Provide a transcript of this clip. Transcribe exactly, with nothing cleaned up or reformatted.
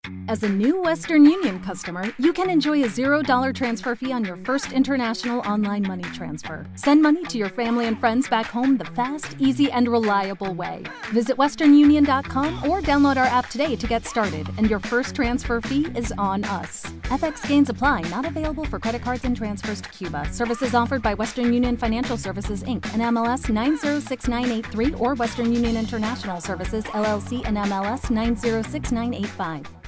As a new Western Union customer, you can enjoy a zero dollar transfer fee on your first international online money transfer. Send money to your family and friends back home the fast, easy, and reliable way. Visit western union dot com or download our app today to get started, and your first transfer fee is on us. F X gains apply, not available for credit cards and transfers to Cuba. Services offered by Western Union Financial Services, Incorporated and M L S nine zero six nine eight three or Western Union International Services, L L C and M L S nine zero six nine eight five.